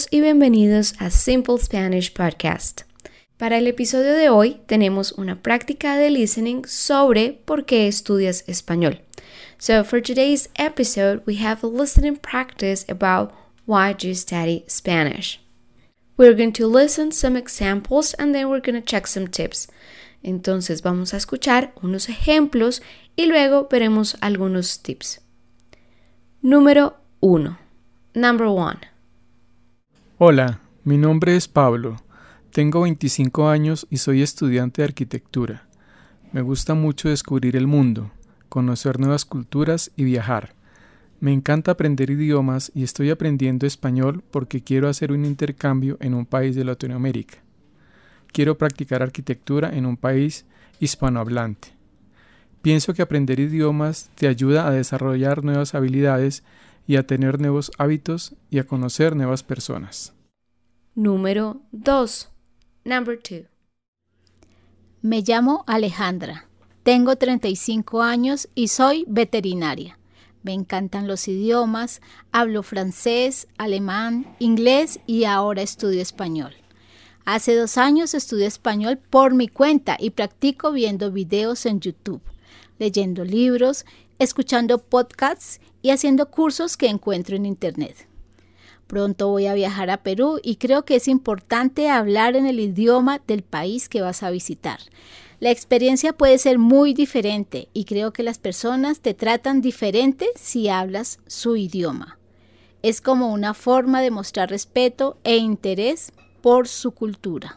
Saludos y bienvenidos a Simple Spanish Podcast. Para el episodio de hoy tenemos una práctica de listening sobre por qué estudias español. So for today's episode, we have a listening practice about why do you study Spanish. We're going to listen some examples and then we're going to check some tips. Entonces vamos a escuchar unos ejemplos y luego veremos algunos tips. Número 1. Number 1. Hola, mi nombre es Pablo. Tengo 25 años y soy estudiante de arquitectura. Me gusta mucho descubrir el mundo, conocer nuevas culturas y viajar. Me encanta aprender idiomas y estoy aprendiendo español porque quiero hacer un intercambio en un país de Latinoamérica. Quiero practicar arquitectura en un país hispanohablante. Pienso que aprender idiomas te ayuda a desarrollar nuevas habilidades y a tener nuevos hábitos y a conocer nuevas personas. Número 2. Number 2. Me llamo Alejandra. Tengo 35 años y soy veterinaria. Me encantan los idiomas, hablo francés, alemán, inglés y ahora estudio español. Hace 2 años estudio español por mi cuenta y practico viendo videos en YouTube, leyendo libros, escuchando podcasts y haciendo cursos que encuentro en Internet. Pronto voy a viajar a Perú y creo que es importante hablar en el idioma del país que vas a visitar. La experiencia puede ser muy diferente y creo que las personas te tratan diferente si hablas su idioma. Es como una forma de mostrar respeto e interés por su cultura.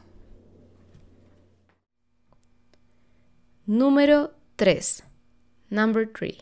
Número 3. Number 3.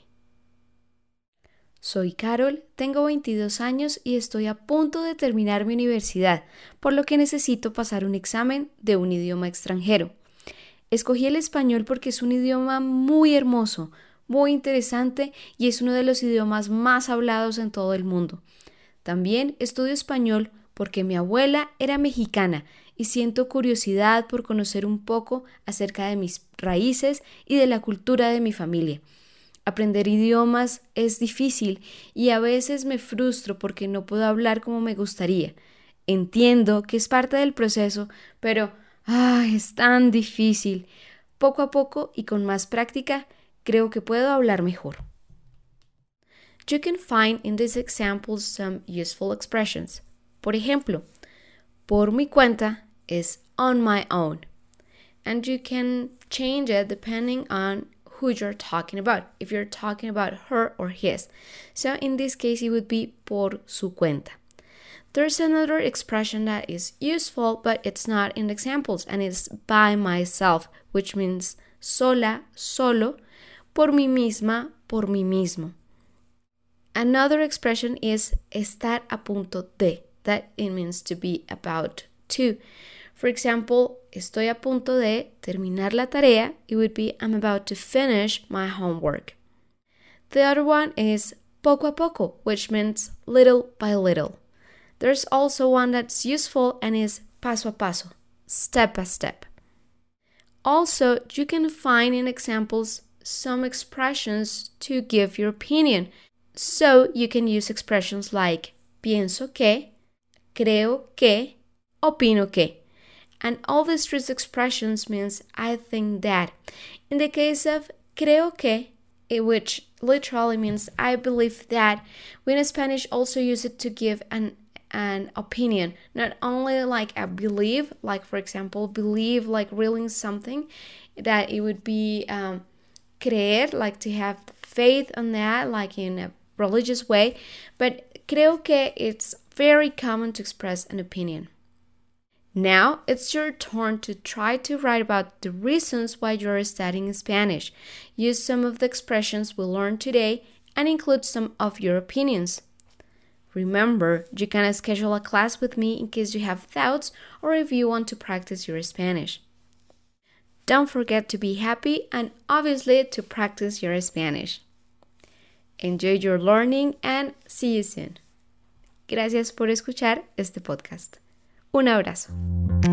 Soy Carol, tengo 22 años y estoy a punto de terminar mi universidad, por lo que necesito pasar un examen de un idioma extranjero. Escogí el español porque es un idioma muy hermoso, muy interesante y es uno de los idiomas más hablados en todo el mundo. También estudio español porque mi abuela era mexicana y siento curiosidad por conocer un poco acerca de mis raíces y de la cultura de mi familia. Aprender idiomas es difícil y a veces me frustro porque no puedo hablar como me gustaría. Entiendo que es parte del proceso, pero es tan difícil. Poco a poco y con más práctica, creo que puedo hablar mejor. You can find in these examples some useful expressions. Por ejemplo, por mi cuenta es on my own. And you can change it depending on who you're talking about, if you're talking about her or his. So in this case, it would be por su cuenta. There's another expression that is useful, but it's not in the examples, and it's by myself, which means sola, solo, por mí misma, por mí mismo. Another expression is estar a punto de, that it means to be about to. For example, estoy a punto de terminar la tarea. It would be I'm about to finish my homework. The other one is poco a poco, which means little by little. There's also one that's useful and is paso a paso, step by step. Also, you can find in examples some expressions to give your opinion. So you can use expressions like pienso que, creo que, opino que. And all these three expressions means I think that. In the case of creo que, which literally means I believe that, we in Spanish also use it to give an opinion. Not only like a believe, like for example, believe like really in something, that it would be creer, like to have faith on that, like in a religious way. But creo que it's very common to express an opinion. Now, it's your turn to try to write about the reasons why you're studying Spanish. Use some of the expressions we learned today and include some of your opinions. Remember, you can schedule a class with me in case you have doubts or if you want to practice your Spanish. Don't forget to be happy and obviously to practice your Spanish. Enjoy your learning and see you soon. Gracias por escuchar este podcast. Un abrazo.